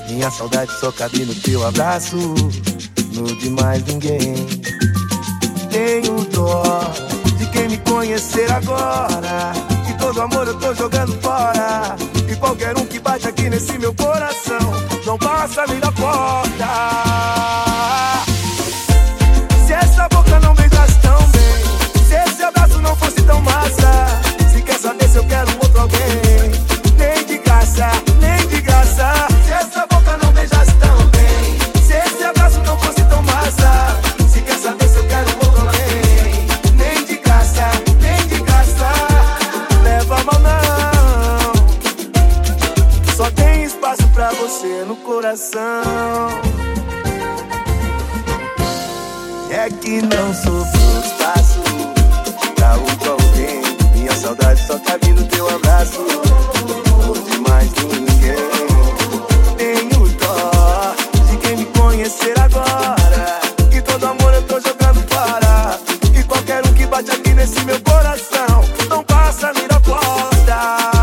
Minha saudade só cabe no teu abraço, no de mais ninguém. Tenho dó de quem me conhecer agora, que todo amor eu tô jogando fora. E qualquer um que bate aqui nesse meu coração não passa nem da porta. Se essa boca não beijasse tão bem, se esse abraço não fosse tão massa, se quer saber se eu quero outro alguém, nem de graça, nem de graça. Se essa boca não beijasse tão bem, se esse abraço não fosse tão massa, se quer saber se eu quero outro alguém, nem de graça, nem de graça. Leva a mão não, só tem espaço pra você no coração. É que não sobrou espaço pra outro alguém. Minha saudade só cabe no teu abraço, não de mais ninguém. Tenho dó de quem me conhecer agora, que todo amor eu tô jogando fora. E qualquer um que bate aqui nesse meu coração não passa nem da porta.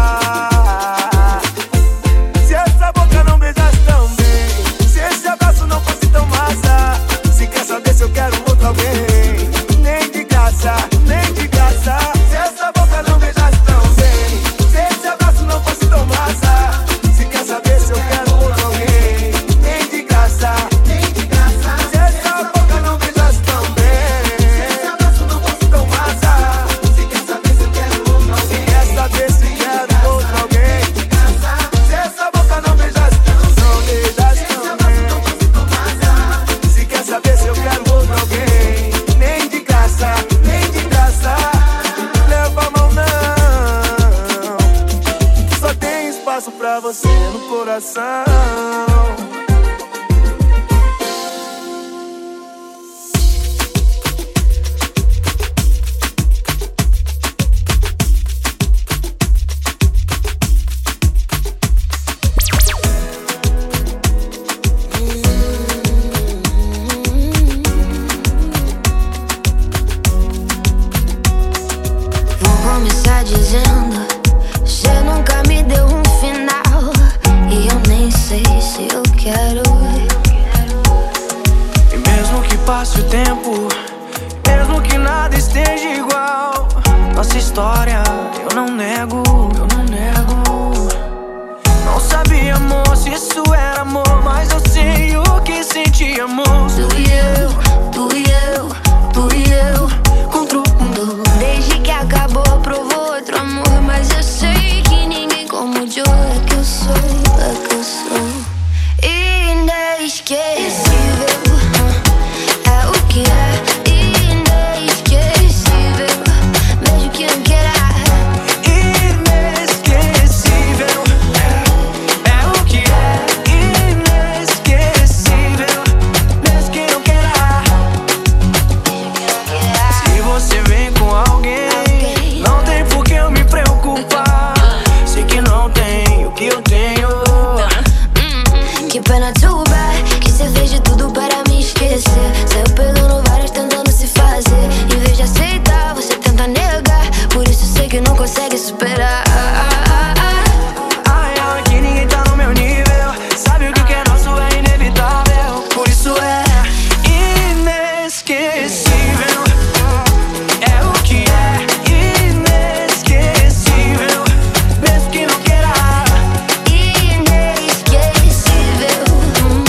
Se essa boca não beijasse tão bem, se esse abraço não fosse tão massa, se quer saber se eu quero outro alguém, nem de graça, nem de graça. Se essa boca não beijasse tão bem, se esse abraço não fosse tão massa, se quer saber se eu quero outro alguém, nem de graça, nem de graça. Se essa boca não beijasse tão bem, se esse abraço não fosse tão massa, se quer saber se eu quero outro alguém, se quer saber se quero outro alguém, se essa boca não beijasse tão bem, se esse abraço não fosse tão massa, se quer saber se eu quero outro alguém, nem de graça, nem de graça. Leva a mão não, só tem espaço pra você no coração. Vou começar dizendo: cê nunca me deu um final, e eu nem sei se eu quero. E mesmo que passe o tempo, mesmo que nada esteja igual, nossa história eu não nego, eu não nego. Não sabia, amor, se isso era amor, mas eu sei o que sentíamos. Tu e eu, tu e eu, tu e eu contra o mundo. Desde que acabou, provou outro amor, mas eu sei que ninguém como o Joe. É que eu sou, é que eu sou inesquecível. É o que é inesquecível, mesmo que não queira. Inesquecível, é o que é inesquecível, mesmo que não queira. Se você vem com alguém, não tem por que eu me preocupar. Sei que não tem o que eu tenho. Que pena, too bad, que cê fez de tudo para me esquecer. Saiu pegando várias tentando se fazer. Em vez de aceitar, você tenta negar. Por isso sei que não consegue superar. Ai, ai, que ninguém tá no meu nível. Sabe o que é nosso é inevitável. Por isso é inesquecível. É o que é inesquecível, mesmo que não queira. Inesquecível,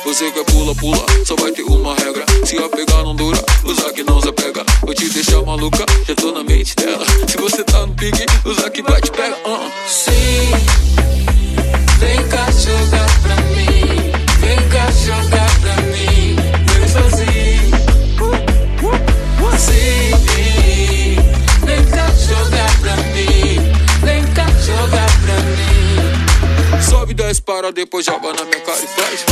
Você quer pula, pula, só vai ter uma regra. Se apegar não dura, usa que não se apega. Vou te deixar maluca, já tô na mente dela. Se você tá no pique, usa que vai te pega. Sim, vem cá jogar pra mim. Vem cá jogar pra mim. Vem sozinho. Sim, vem cá jogar pra mim. Vem cá jogar pra mim. Sobe 10 para, depois joga na minha cara e faz.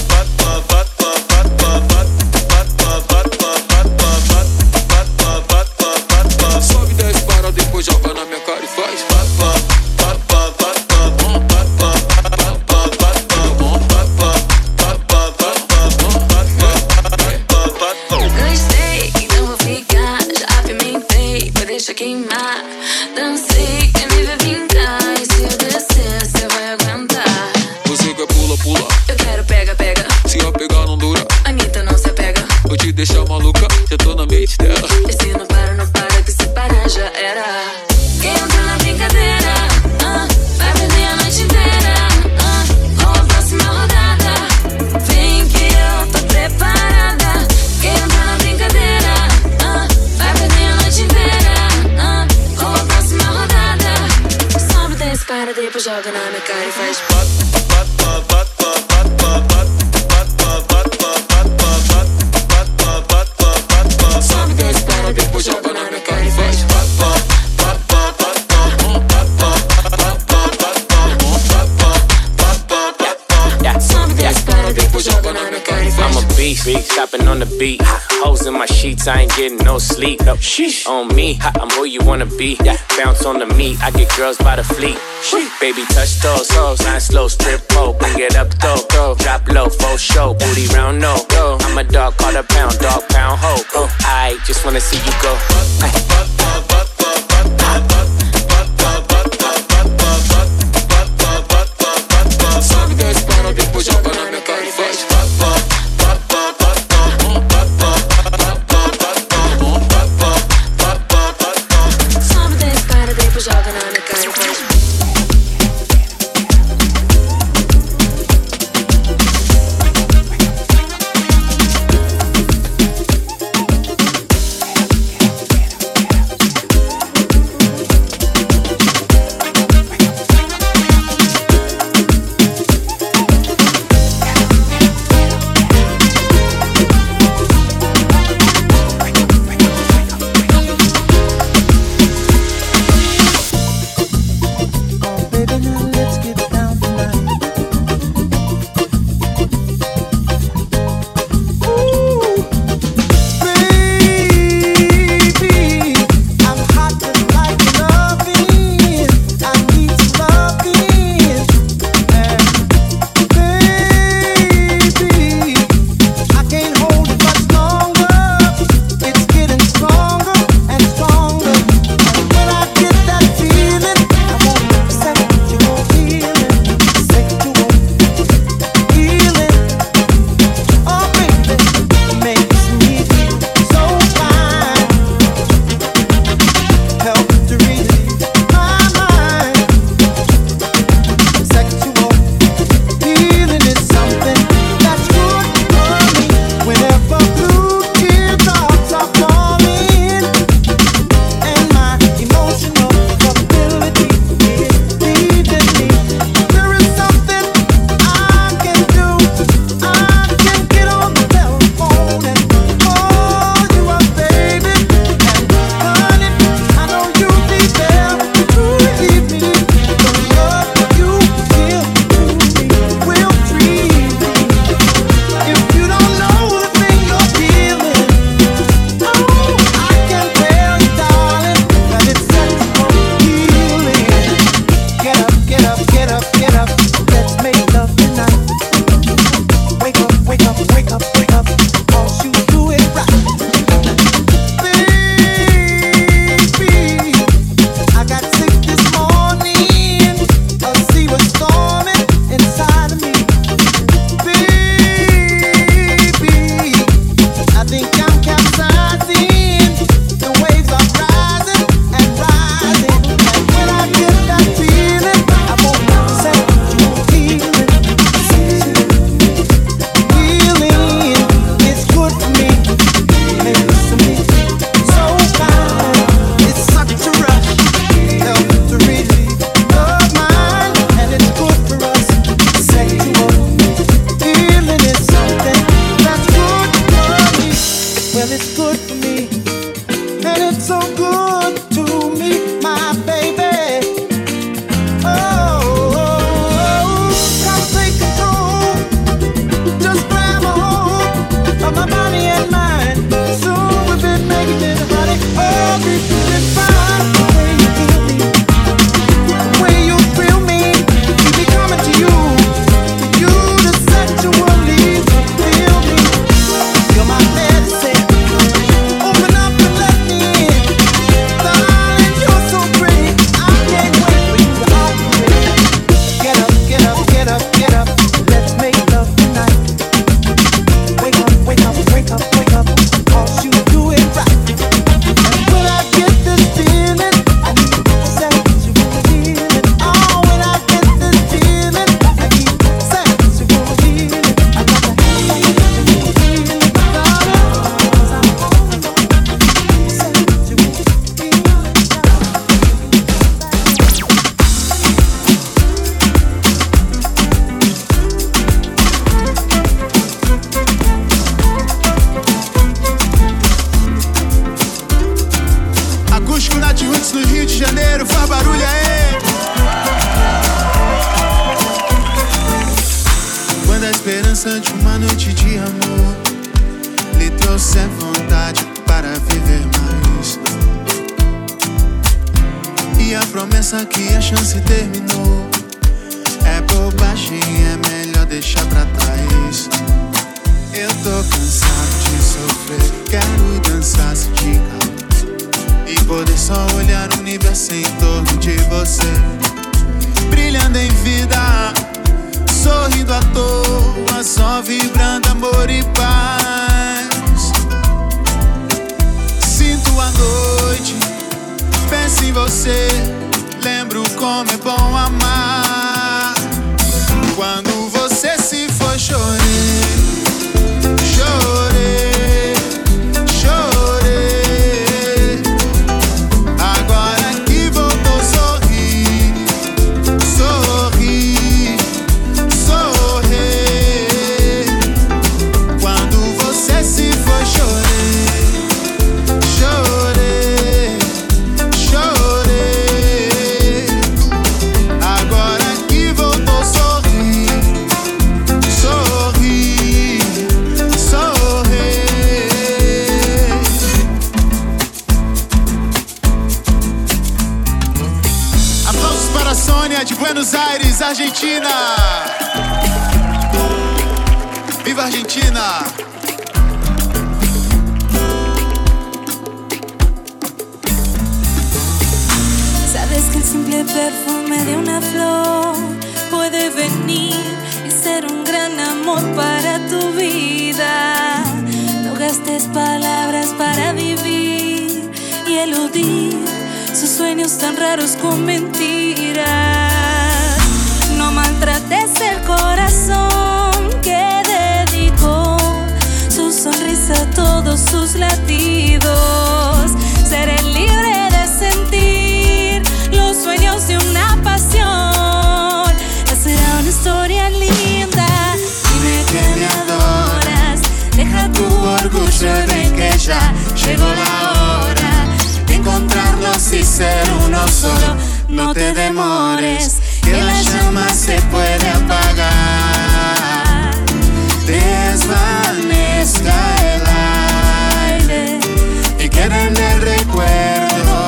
Sobe 10 para, depois joga na minha cara e faz. Gostei, então vou ficar. Já apimentei, mas deixa queimar. Dancei, quer me ver vingar. E se eu descer, cê vai aguentar. Você quer pula, pula, Eu quero pega, pega. se apegar não dura, Anitta não se apega. vou te deixar maluca, já tô na mente dela. E se não para, não para, que se parar já era. Quem entra na brincadeira, vai perder a noite inteira. Vamos à próxima rodada. Vem que eu tô preparada. Quem entra na brincadeira, vai perder a noite inteira. Vamos à próxima rodada. Sobe 10 para, depois joga na minha cara e faz. Sobe 10 para, depois joga na minha cara e faz. Sobe 10 para, depois joga na minha cara e faz. I'm a beast, chopping on the beat. Hoes in my sheets, I ain't getting no sleep. On me, I'm who you wanna be. Bounce on the meat, I get girls by the fleet. Baby, touch those hoes, I'm slow, strip pole, bring it up though. Drop low, full show, booty round no. I'm a dog, call a pound, dog pound hoe. I just wanna see you go. Sobe 10 para, depois joga na minha cara e faz. Sobe 10 para, depois joga na minha cara e faz. promessa de uma noite de amor lhe trouxe vontade para viver mais. E a promessa que a chance terminou é bobagem, é melhor deixar pra trás. Eu tô cansado de sofrer, quero dançar sem te calar e poder só olhar o universo em torno de você, brilhando em vida, sorrindo à toa, só vibrando amor e paz. Sinto a noite, penso em você, lembro como é bom amar. Quando você se foi, chorei, chorei, chorei. Agora que voltou, sorri, sorri, sorri. Quando você se foi, chorei, chorei, chorei. Agora que voltou, sorri, sorri, sorri. Aplausos para a Sônia de Buenos Aires, Argentina. Viva a Argentina! Sabes que el simple perfume de una flor puede venir y ser un gran amor para tu vida. No gastes palabras para vivir y eludir sus sueños tan raros con mentiras. No maltrates el corazón que dedicó su sonrisa a todos sus latidos. Seré libre de sentir los sueños de una pasión. Será una historia linda. Dime que me adoras. Deja tu orgullo y ven que ya llegó la hora de encontrarlos y ser uno solo. No te demores, que la llama se puede apagar. Desvanezca el aire y queda en el recuerdo.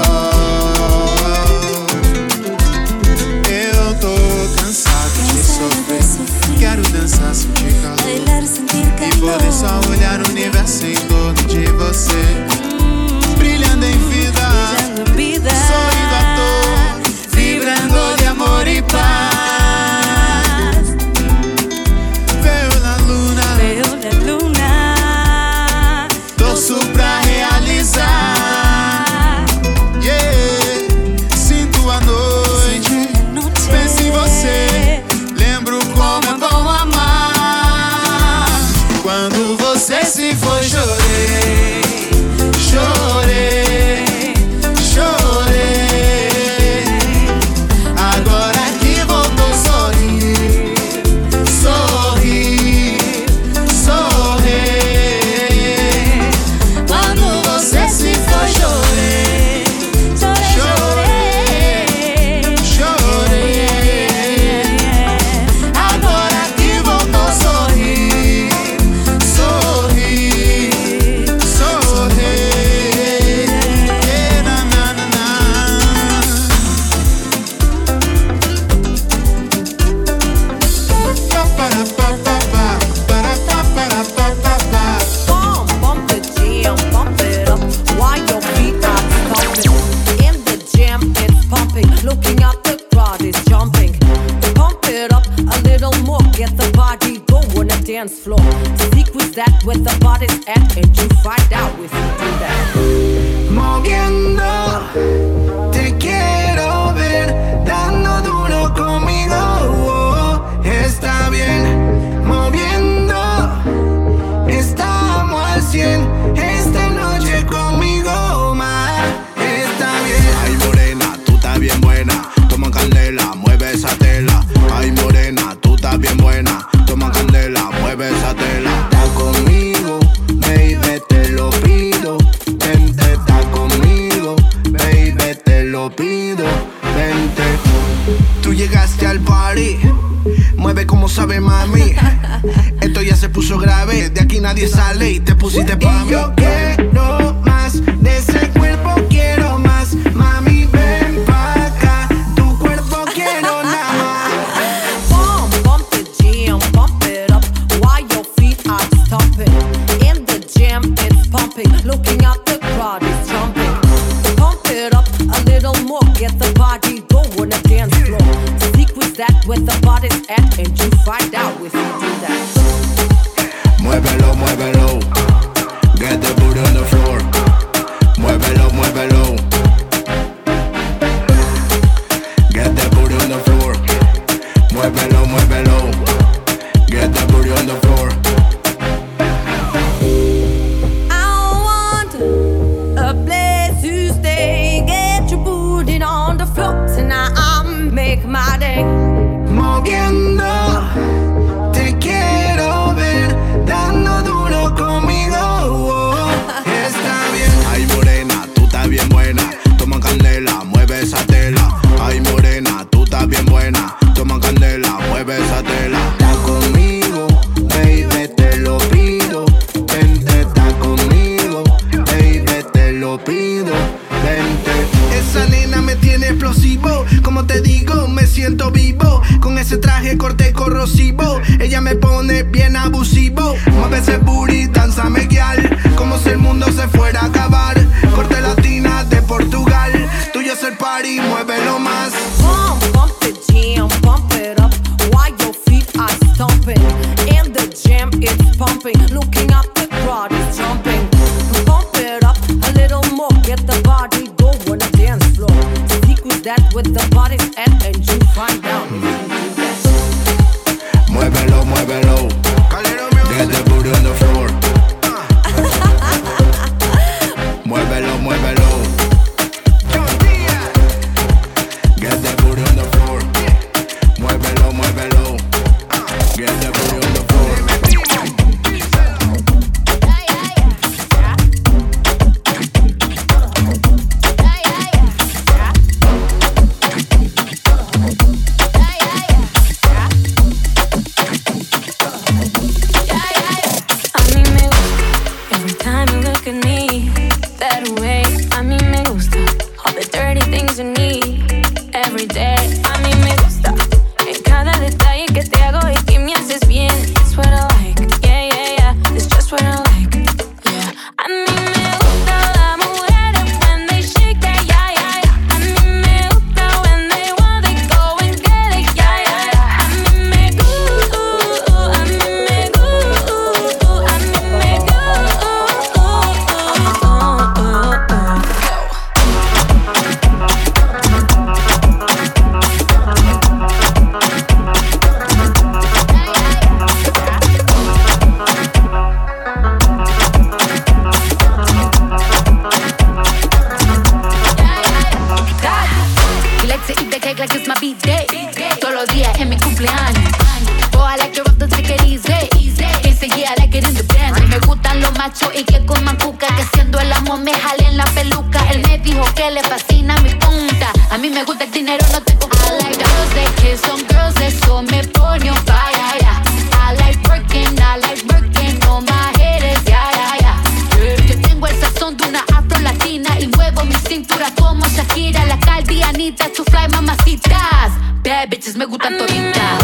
Eu tô cansado de sofrer, quero dançar sem te calar, Bailar, sentir e calor. poder só olhar o universo em torno de você, brilhando em vida, Brillando en vida. sorrindo à toa, vibrando de amor e paz. Veo la luna, Veo la luna. torço pra realizar. Yeah, sinto a noite, penso em você, lembro como é bom amar. Quando você se foi, chorei, chorei, chorei. Agora que voltou, sorri, sorri, sorri. Quando você se foi, chorei, chorei, chorei. Agora que voltou, sorri, sorri, sorri. Na, na, na, na. Bump the jam, bump it up while your feet are stomping. In the jam, it's pumping. Looking at the crowd is jumping. Pump it up a little more. Get the body going on the dance floor. Secrets that where the body's at, and you find out if you do that. Moviendo, te quiero ver, dando duro conmigo. Oh, está bien, moviendo, estamos al 100. Esta noche conmigo más, está bien. Ay morena, tú estás bien buena, toma candela, mueve esa tela. Ay morena, tú estás bien buena, toma candela, mueve esa tela. Está conmigo, baby, te lo pido. Vente, está conmigo, baby, grave, de aquí nadie sale y te pusiste pa' mí. Yo quiero más de ese cuerpo, quiero más. Mami, ven pa' acá, tu cuerpo quiero nada más. Bump the jam, bump it up while your feet are stomping. In the jam, it's pumping. Looking out, the crowd is jumping. Pump it up a little more, get the body going on the dance floor. Secrets that where the body's at, and you find out if you do that. Muévelo, muévelo. Get the booty on the floor. Muévelo, muévelo. Get the booty on the floor. Muévelo, muévelo. Get the booty on the floor. I want a place to stay. Get your booty on the floor tonight. I'll make my day. Moviendo, te quiero ver, dando duro conmigo. Oh, está bien. Ay, morena, tú estás bien buena. Toma candela, mueve esa tela. Ay, morena, tú estás bien buena. Toma candela, mueve esa tela. Está conmigo, baby, te lo pido. Vente, está conmigo, baby, te lo pido. Vente. Esa nena me tiene explosivo. Como te digo, me siento vivo. Con ese traje corte corrosivo, ella me pone bien abusivo. Mueve ese booty, danzame guial, como si el mundo se fuera a acabar. Corte latina de Portugal, tuyo es el party, muévelo más. Bump the jam, bump it up while your feet are stomping. In the jam, it's pumping. Looking up, the crowd is jumping. Bump it up a little more, get the body going on the dance floor. Secrets that with the body's at, and you find out if you do that. Muévelo, muévelo. Get the booty on the floor. Muévelo, muévelo. Get the booty on the floor. Muévelo, muévelo. Get the booty on the floor. A mí me gusta every time you look at me that way. A mí me gusta all the dirty things you need every day. A mí me gusta en cada detalle que te hago y que me haces bien. It's what I like, yeah, yeah, yeah. It's just what I like, yeah. A mí me gusta las mujeres when they shake that, yeah, yeah, yeah. A mí me gusta when they want they go and get it, yeah, yeah, yeah. A mí me gusta, a mí me gusta, a mí me gusta. He likes to eat the cake like it's my B-day. Todos los días en mi cumpleaños. Oh, I like your rough, take it easy. He said, yeah, I like it in the band. Me gustan los machos y que coman cuca. Que siendo el amor me jalen la peluca. Él me dijo que le fascina mi punta. A mí me gusta el dinero, no tengo. I like girls that kiss on girls, eso me pone on fire, yeah. I like working on my haters, yeah, yeah, yeah. Que tengo el sazón de una afro-latina y muevo mi cintura como Shakira, la caldianita, tu fly mamacitas. Bad bitches me gustan toditas.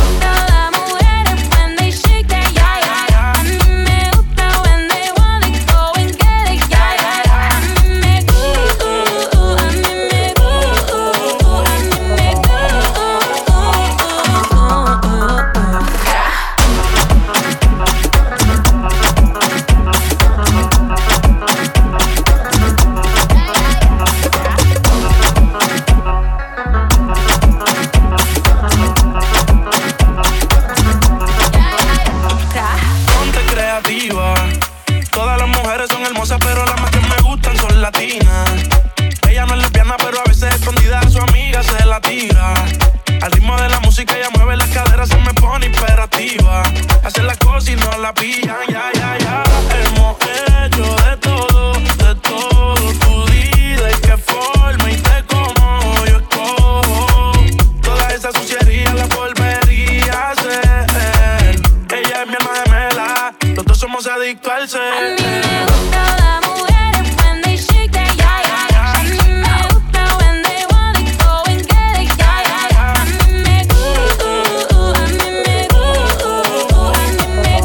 la pillan, ya, ya, ya. Hemos hecho de todo, tu vida y qué forma y de cómo yo escojo. Toda esa suciería la volvería a hacer. Ella es mi alma gemela, los dos somos adictos al ser. A mí me gustan las mujeres when they shake that yeah, yeah, yeah. A mí me gusta when they want it, go and get it, yeah, yeah, yeah. A mí me gusta, a mí me gusta, a mí me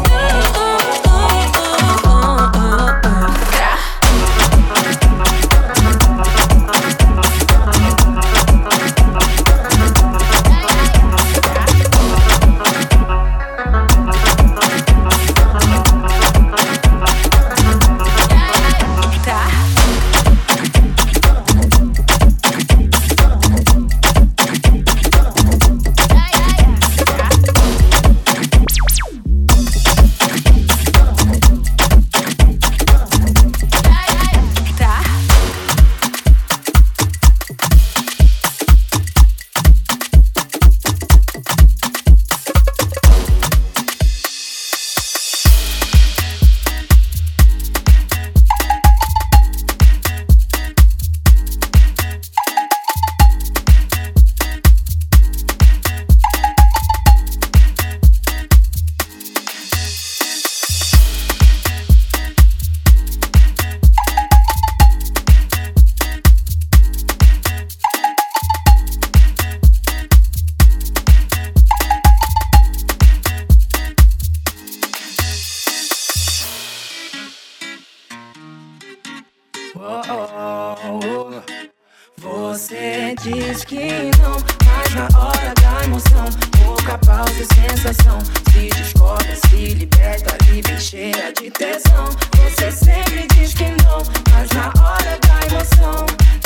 Você diz que não, mas na hora da emoção, pouca pausa e sensação. Se descobre, se liberta, livre, cheia de tesão. Você sempre diz que não, mas na hora da emoção,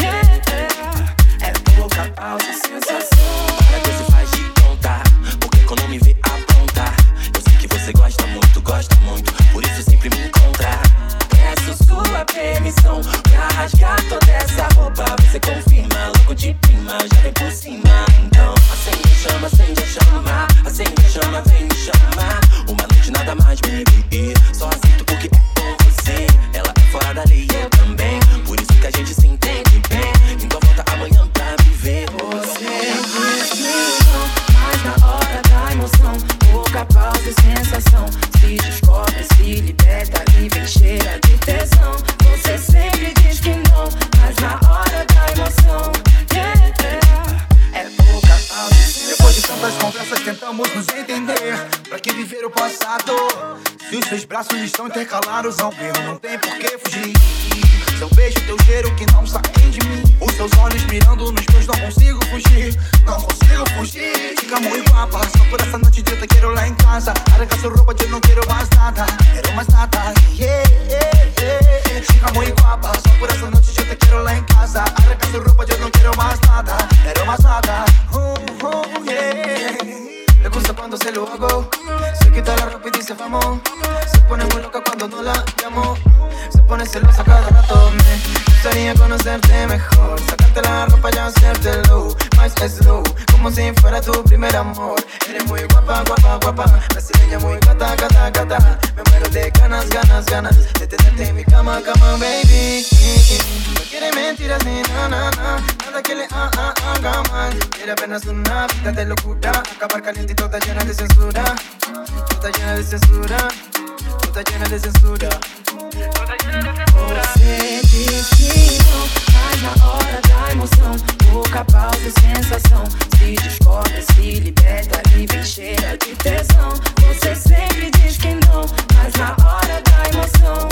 é pouca pausa e sensação. Para que se faz de conta, porque quando me vê aprontar, eu sei que você gosta muito, por isso sempre me encontra. Peço sua permissão pra rasgar toda essa roupa. Você confirma, logo de prima, já vem por cima. Então acende a chama, acende a chama, acende a chama, vem me chamar. Uma noite nada mais, baby, só aceito porque é com você. Ela é fora da lei, eu também, por isso que a gente se entende bem. Então volta amanhã pra me ver. Você diz que não, mas na hora da emoção, pouca pausa e sensação. Se descobre, se liberta, livre, cheia de tesão. Você sempre diz que não, mas na hora da emoção, é pouca pausa e sensação. Depois de tantas conversas tentamos nos entender. Pra que viver o passado? Se os seus braços estão intercalados ao meu, não tem por que fugir. Seu beijo, teu cheiro que não saem de mim. Os seus olhos mirando nos meus, não consigo fugir. Não consigo fugir. Fica muito guapa, só por essa noite eu te quero lá em casa. Arranca sua roupa, eu não quero mais nada. Quero mais nada, yeah, yeah, yeah. Fica muito guapa, só por essa noite eu te quero lá em casa. Arranca sua roupa, eu não quero más nada. Quero más nada, yeah. Le gusta cuando se lo hago. Se quita la ropa y dice vamos. Se pone muy loca cuando no la llamo. Se pone celosa cada rato. Me gustaría conocerte mejor. Sacarte la ropa y hacértelo más slow, como si fuera tu primer amor. Eres muy guapa, guapa, guapa. Brasileña muy gata, gata, gata. Me muero de ganas, ganas, ganas de tenerte en mi cama, cama, baby. No quiere mentiras ni na, na, na. Nada que le haga mal. Quiere apenas una vida de locura. Acabar caliente y toda llena de censura. Toda llena de censura. Toda llena de censura. Você diz que não, mas na hora da emoção, pouca pausa e sensação. Se descobre, se liberta, livre, cheia de tesão. Você sempre diz que não, mas na hora da emoção,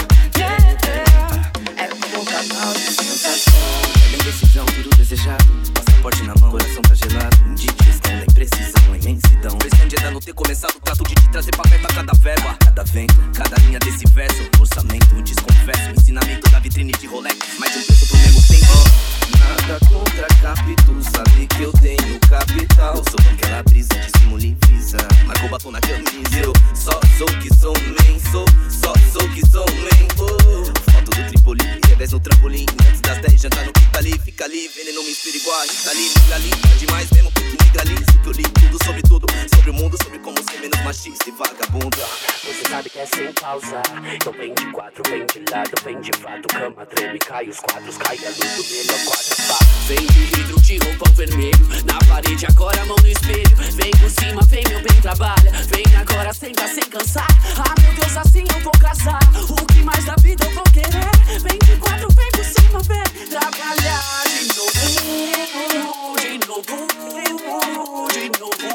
é pouca pausa e sensação. É indecisão, tudo desejado. Passaporte na mão, coração tá gelado. Indigestão da imprecisão, imensidão. Questão de ainda não ter começado, trato de te trazer pra perto a cada verba, cada vento, cada linha desse verso. Orçamento, desconfesso, ensinamento da vitrine de Rolex. Mais um preço pro mesmo tempo. Nada contra capítulo, sabe que eu tenho capital. Sou aquela brisa de simule visa. Marcou batom na camisa. Eu só sou que sou man, só sou que sou man. Foto do Tripoli, revés no trampolim. Antes das 10 jantar no que tá ali, fica ali. Veneno me inspira igual a Rita Lee. Tá demais mesmo, puto. integralista, que eu li tudo, sobre o mundo, sobre como ser menos machista e vagabunda. Você sabe que é sem pausa. Então vem de quatro, vem de lado, vem de fato. Cama treme, cai os quadros, cai a luz do melhor quadro. Vem de vidro, de roupão vermelho. Na parede, agora a mão no espelho. Vem por cima, vem meu bem, trabalha. Vem agora, senta sem cansar. Ah, meu Deus, assim eu vou casar. O que mais da vida eu vou querer? Vem de quatro, vem por cima, vem trabalhar de novo, de novo, de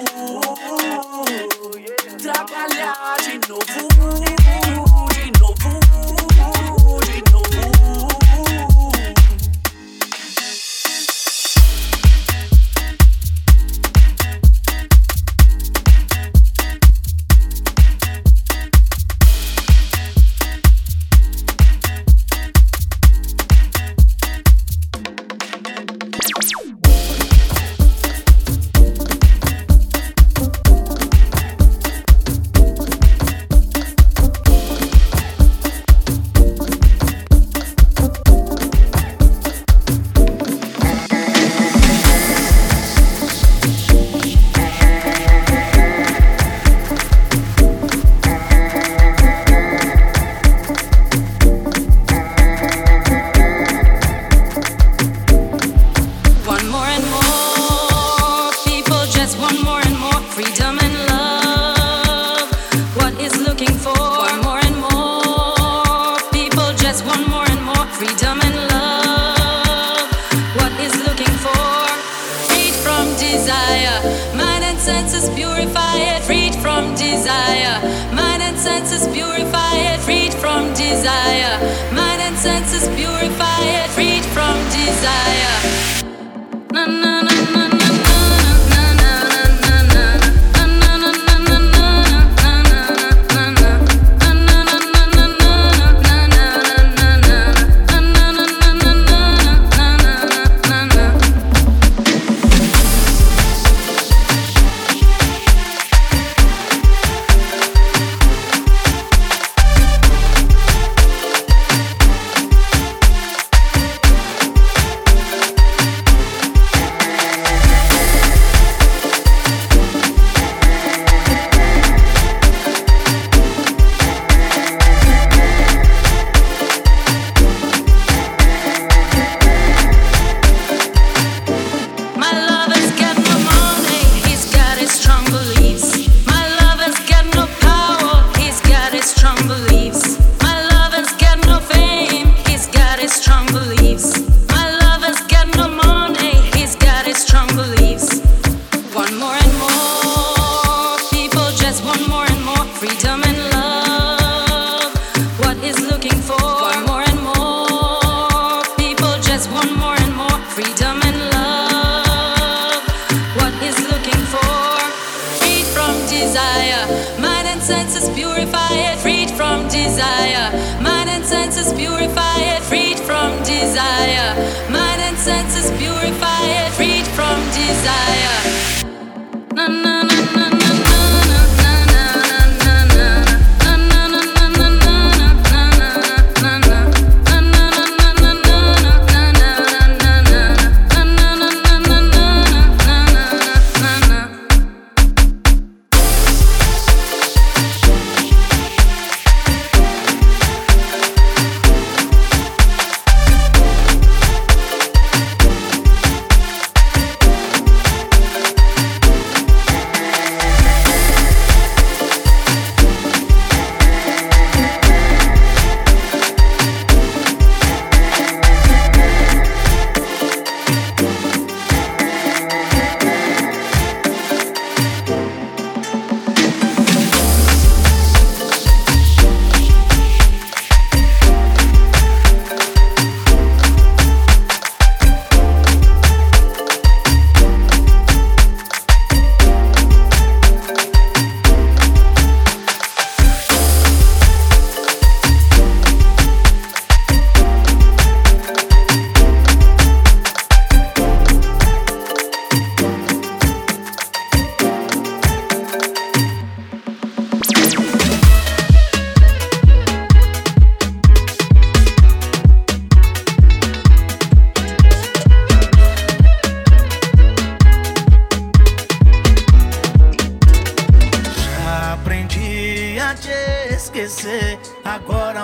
novo. Trabalhar de novo, de novo, de novo.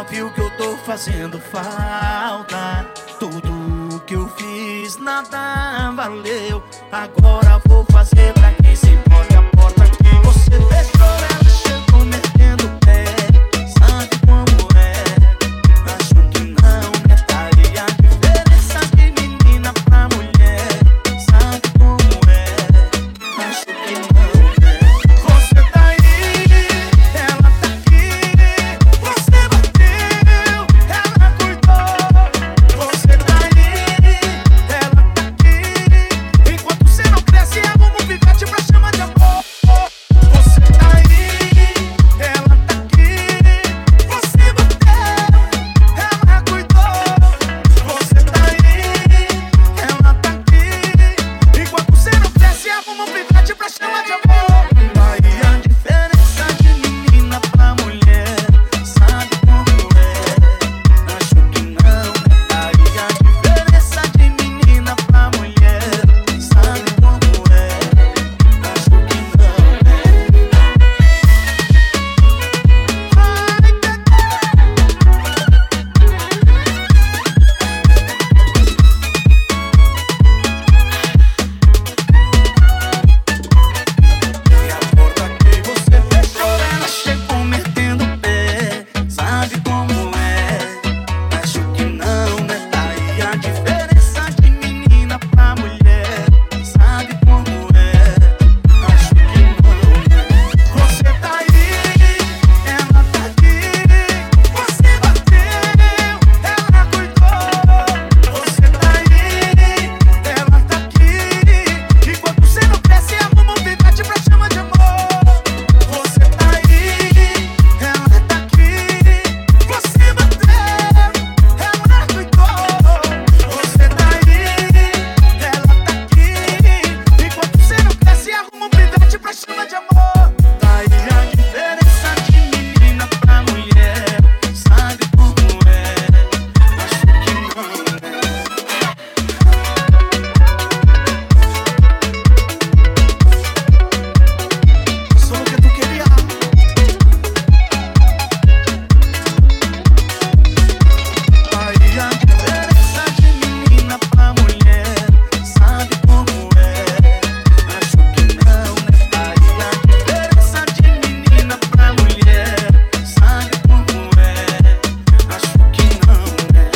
viu que eu tô fazendo falta. Tudo que eu fiz nada valeu. Agora vou fazer pra quem se pode a porta que você fechou. Ela chegou metendo o pé, sabe como é. Acho que não notaria a diferença de menina pra mulher. Sabe como é, acho que não é. Você tá aí, ela tá aqui. Você bateu, ela cuidou. Você tá aí, ela tá aqui. Enquanto você não cresce, arruma um pivete pra chamar de amor. Você tá aí, ela tá aqui. Você bateu, ela cuidou. Você tá aí, ela tá aqui. Enquanto você não cresce, arruma um pivete pra chamar de amor. Aí a diferença de menina pra mulher, sabe como é? Acho que não. Aí a diferença de menina pra mulher, sabe como é? Acho que não. E a porta que você fechou, ela chegou metendo o pé. Sabe como é? Acho que não, né? Aí a diferença de menina pra mulher, sabe como é? Acho que não, né? Você tá aí, ela tá aqui. Você bateu, ela cuidou. Você tá aí, ela tá aqui. Enquanto você não cresce, arruma um pivete pra chamar de amor. Você tá aí, ela tá aqui. Você bateu, ela cuidou. Você tá aí, ela tá aqui. Enquanto você não cresce, arruma um pivete pra chamar de amor. Tá aí a diferença de menina pra mulher, sabe como é? Acho que não, né? Só o que tu queria. Aí a diferença de menina pra mulher, sabe como é? Acho que não, né? Aí a diferença de menina pra mulher, sabe como é? Acho que não, né?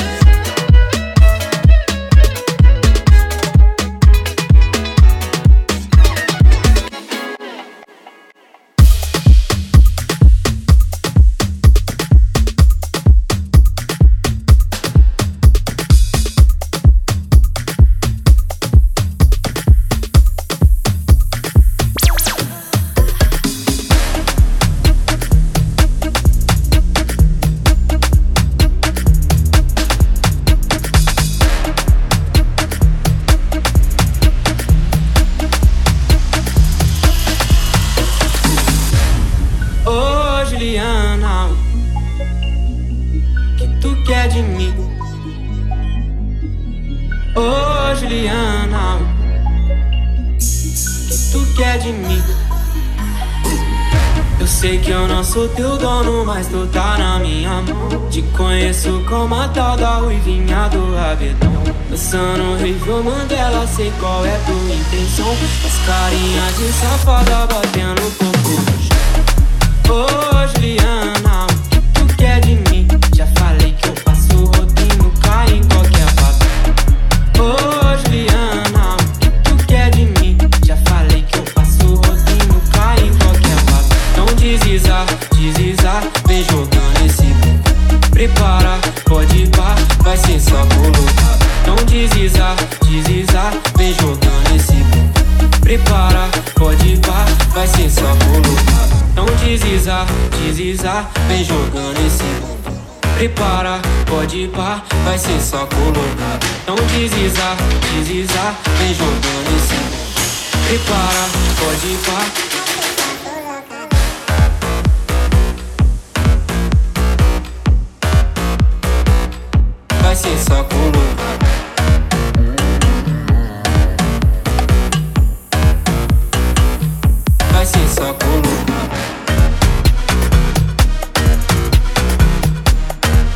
Ô Juliana, que tu quer de mim? Ô Juliana, que tu quer de mim? Eu sei que eu não sou teu dono, mas tu tá na minha mão. Te conheço como a tal da ruivinha do rabetão. Dançando Rio Mandela, sei qual é tua intenção. As carinhas de safada batendo popô no chão. Ô Juliana, o que tu quer de mim? Já falei que eu passo o rodinho, cai em qualquer papo. Ô Juliana, o que tu quer de mim? Já falei que eu passo o rodinho, cai em qualquer papo. Não desisa, vem jogando esse bumbum. Prepara, pode ir pá, vai ser só colocado. Não desisa, vem jogando esse bumbum. Prepara, pode ir pá, vai ser só colocado. Não desisa, vem jogando esse bumbum. Prepara, pode ir pá, vai ser só colocado. Não desisa, vem jogando esse bumbum. Prepara, pode ir pá. Vai ser só colocado. Vai ser só colocado.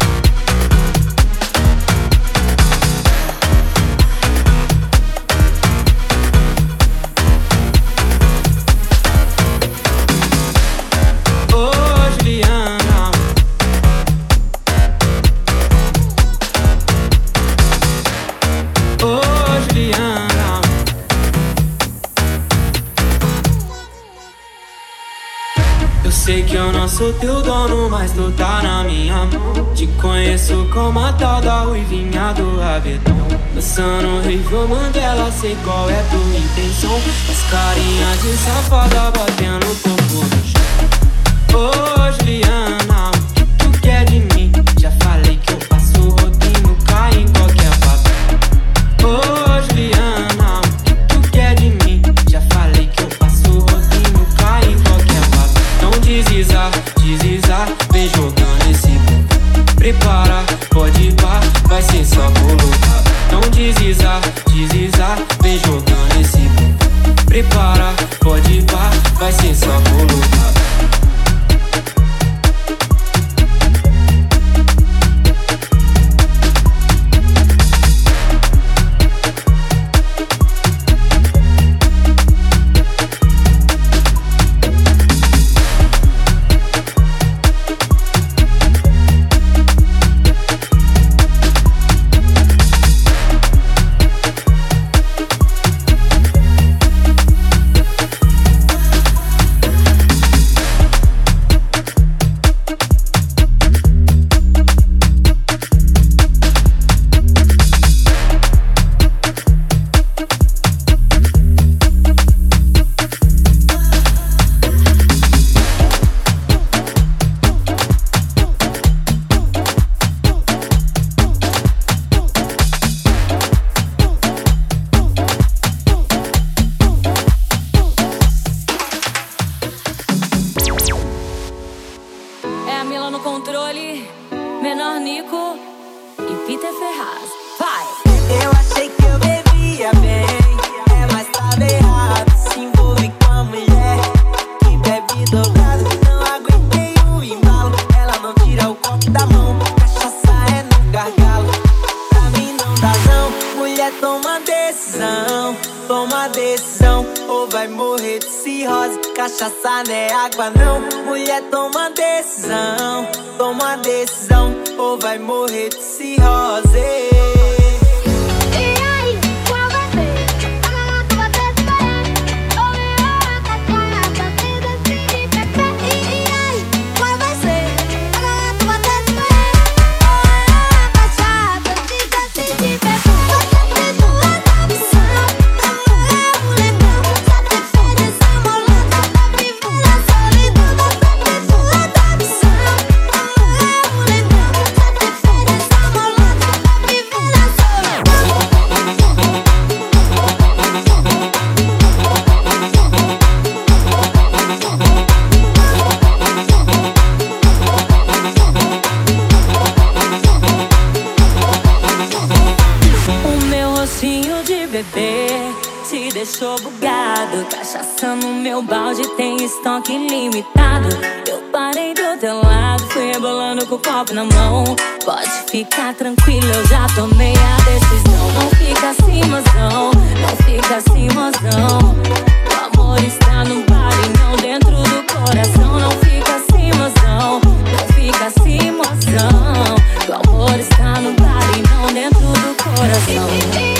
sou teu dono, mas tu tá na minha mão. Te conheço como a tal da ruivinha do rabetão. Dançando Rivo Mandela, sei qual é tua intenção. As carinhas de safada batendo corpo no chão. Ô Juliana, o que tu quer de mim? Já falei que eu passo o rodinho, cai em qualquer papel. Ô Juliana, o que tu quer de mim? Já falei que eu passo o rodinho, cai em qualquer papel. Não deslizar, deslizar, vem jogando esse bumbum. Prepara, pode ir pá, vai ser só colocar. Não deslizar, deslizar, vem jogando esse bumbum. Prepara, pode ir pá, vai ser só colocar. Cachaça não é água não. Mulher, toma decisão. Toma decisão ou vai morrer de cirrose. Deixou bugado, cachaça no meu balde, tem estoque ilimitado. Eu parei do teu lado, fui rebolando com o copo na mão. Pode ficar tranquilo, eu já tomei a decisão. Não fica assim, mozão, não fica assim, mozão. O amor está no bar e não dentro do coração. Não fica assim, mozão, não fica assim, mozão. O amor está no bar e não dentro do coração.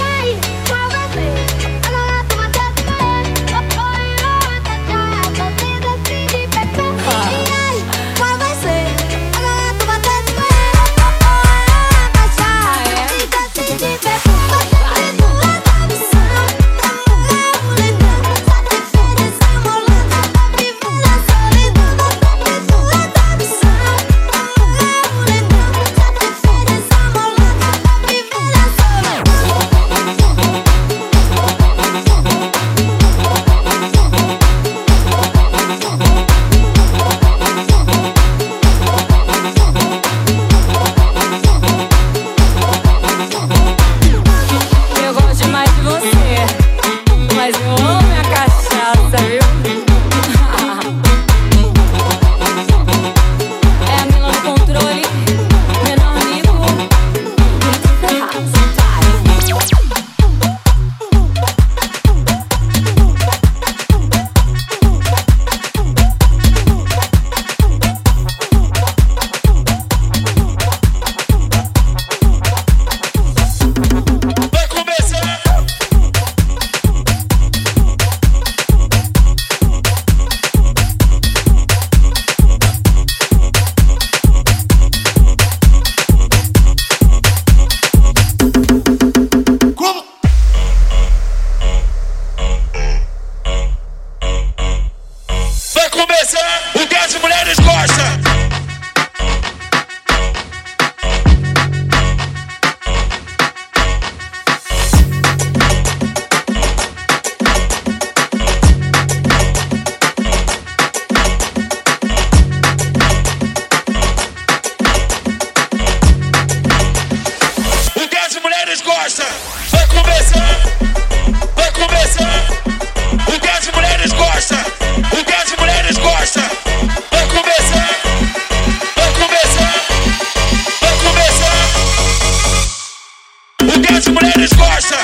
que as mulheres gostam.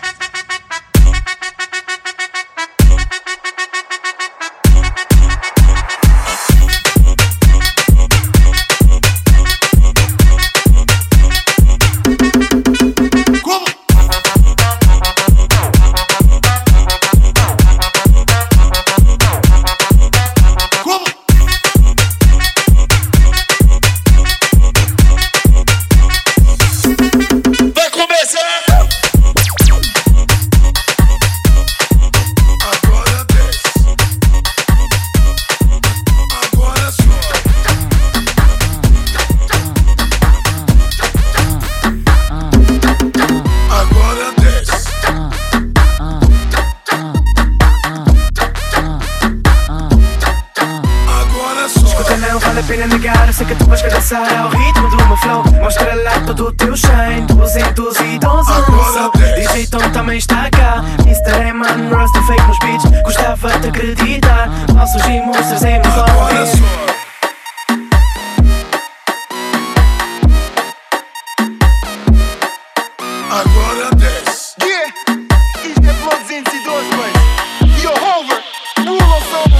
Ao ritmo do meu flow, mostra lá todo o teu shine. 212 DJ Tom também está cá. Mr. Eman, Rasta fake nos beats. Gostava de acreditar. Falsos e monstros em meu ouvido. Agora desce. Yeah, isto é Flow 212, mano. Yo, Hover, rule of soul.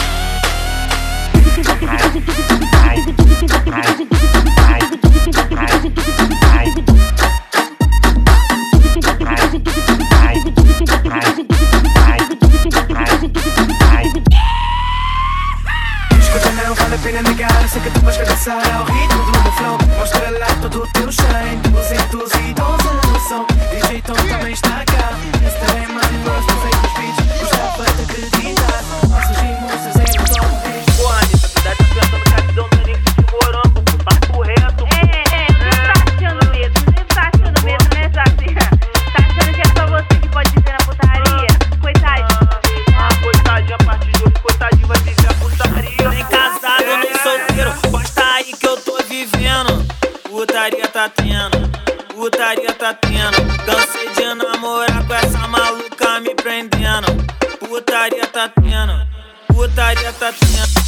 Escuta, não vale a pena negar. Sei que tu vais cabeçar ao ritmo do meu flow. Mostra lá todo o teu shine. 212 no som. DJ Tom também está cá. Mr. Eman, gosto feito dos beats. Gostava de acreditar. Nossos e monstros em meu ouvido. Porra, Anitta, tu deve estar pensando que a visão do Nick de morango. Papo reto. Não tá achando mesmo, né, Jaci? Tá achando que é só você que pode viver na putaria? Coitadinho. Coitadinho, a partir de hoje, coitadinho vai viver a putaria. Nem casado, nem solteiro, posta aí que eu tô vivendo. Putaria tá tendo, putaria tá tendo. Cansei de namorar com essa maluca me prendendo. Putaria tá tendo, putaria tá tendo.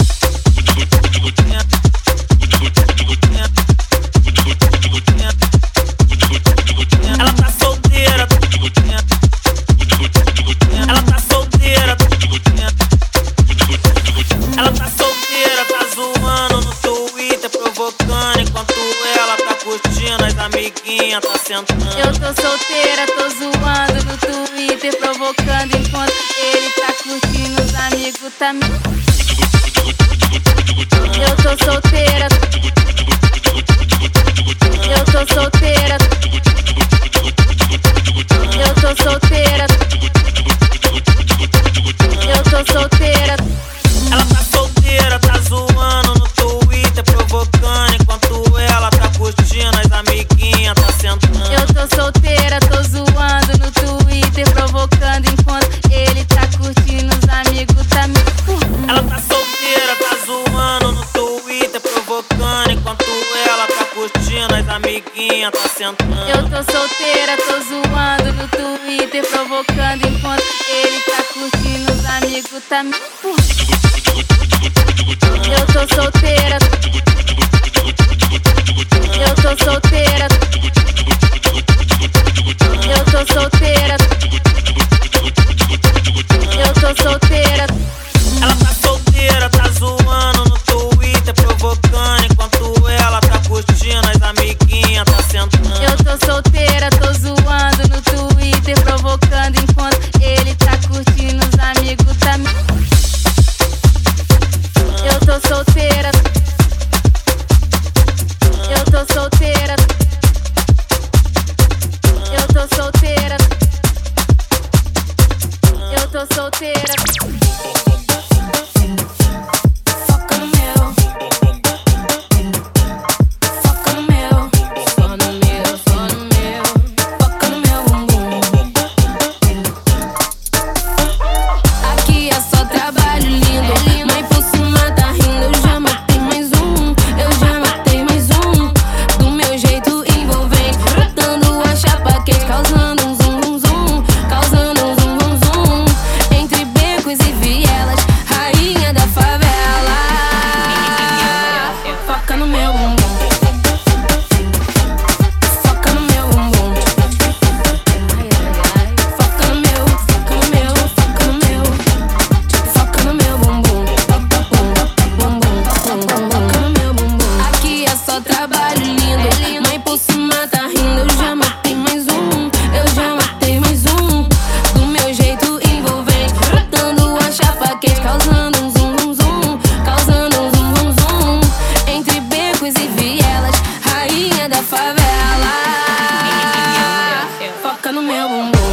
Ela tá solteira. Ela tá solteira. Ela tá solteira, tá zoando no Twitter, provocando. Enquanto ela tá curtindo, as amiguinhas tá sentando. Eu tô solteira, tô zoando no Twitter, provocando. Enquanto ele tá curtindo, os amigos tá me... Eu tô solteira. Eu tô solteira. Eu tô solteira. Eu tô solteira. Ela tá solteira, tá zoando no Twitter, provocando. Enquanto ela tá curtindo, as amiguinhas tá sentando. Eu tô solteira, tô zoando no Twitter, provocando. Enquanto ele tá curtindo, os amigos tá me... Ela tá solteira, tá zoando no Twitter, provocando. Enquanto ela tá curtindo, as amiguinhas tá sentando. Eu tô solteira, tô zoando no Twitter, provocando. Enquanto ele tá curtindo, os amigos tá me... Eu tô solteira. Eu tô solteira. Eu tô solteira. Eu tô solteira. Ela tá solteira, tá zoando no Twitter, provocando. Enquanto ela tá curtindo, as amiguinhas tá sentando. Eu tô solteira, tô zoando no Twitter, provocando. Enquanto ele tá curtindo, os amigos tá me... Eu tô solteira. Eu tô solteira. Eu tô solteira. Eu tô solteira. Foca no meu. Foca no meu. Só no meu, só no meu. Foca no meu. no meu bumbum.